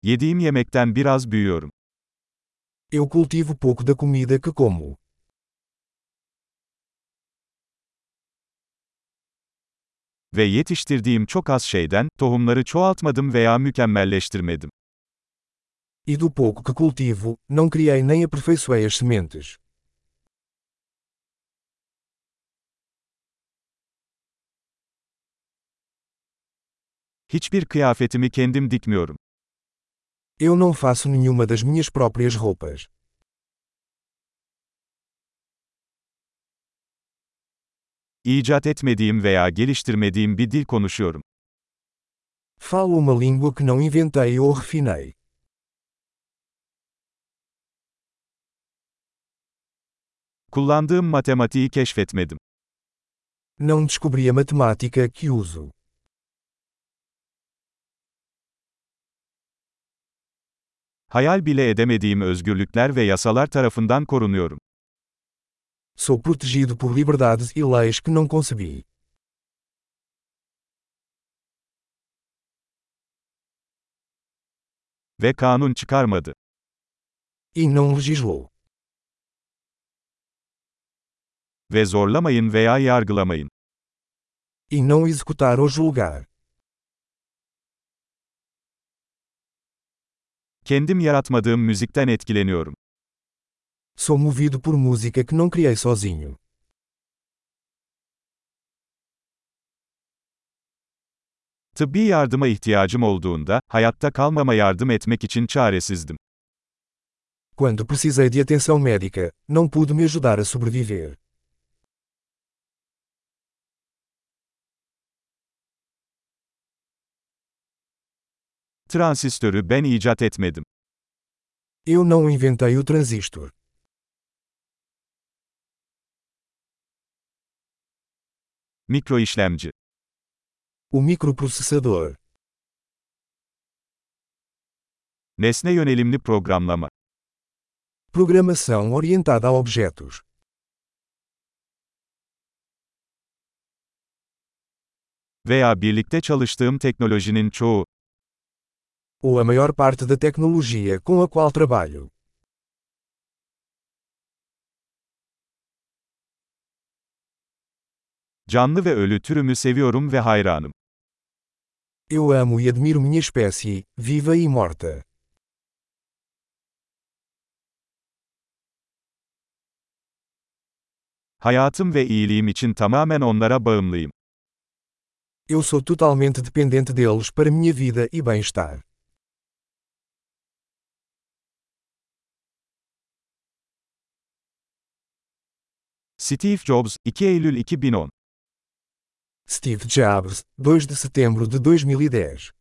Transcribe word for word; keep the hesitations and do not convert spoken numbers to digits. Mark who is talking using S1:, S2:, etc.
S1: Yediğim yemekten biraz büyüyorum.
S2: Eu cultivo pouco da comida que como.
S1: Ve yetiştirdiğim çok az şeyden, tohumları çoğaltmadım veya mükemmelleştirmedim.
S2: E do pouco que cultivo, não criei nem aperfeiçoei as sementes.
S1: Hiçbir kıyafetimi kendim dikmiyorum.
S2: Eu não faço nenhuma das minhas próprias roupas.
S1: İcat etmediğim veya geliştirmediğim bir dil konuşuyorum.
S2: Falo uma língua que não inventei ou refinei.
S1: Kullandığım matematiği keşfetmedim.
S2: Não descobri a matemática que uso.
S1: Hayal bile edemediğim özgürlükler ve yasalar tarafından korunuyorum.
S2: Sou protegido por liberdades e leis que não concebi.
S1: Ve kanun çıkarmadı.
S2: E não legislou.
S1: Ve zorlamayın veya yargılamayın.
S2: E não executar ou julgar.
S1: Kendim yaratmadığım müzikten etkileniyorum.
S2: Sou movido por música que não criei sozinho.
S1: Tıbbi yardıma ihtiyacım olduğunda, hayatta kalmama yardım etmek için çaresizdim.
S2: Quando precisei de atenção médica, não pude me ajudar a sobreviver.
S1: Transistörü ben icat etmedim.
S2: Eu não inventei o transistor.
S1: Mikroişlemci.
S2: O microprocessador.
S1: Nesne yönelimli programlama.
S2: Programação orientada a objetos.
S1: Veya birlikte çalıştığım teknolojinin çoğu.
S2: Ou a maior parte da tecnologia com a qual trabalho.
S1: Canlı ve ölü türümü seviyorum ve hayranım.
S2: Eu amo e admiro minha espécie, viva e morta.
S1: Hayatım ve iyiliğim için tamamen onlara bağımlıyım.
S2: Eu sou totalmente dependente deles para minha vida e bem-estar.
S1: Steve Jobs, iki Eylül iki bin on.
S2: Steve Jobs, dois de setembro de dois mil e dez.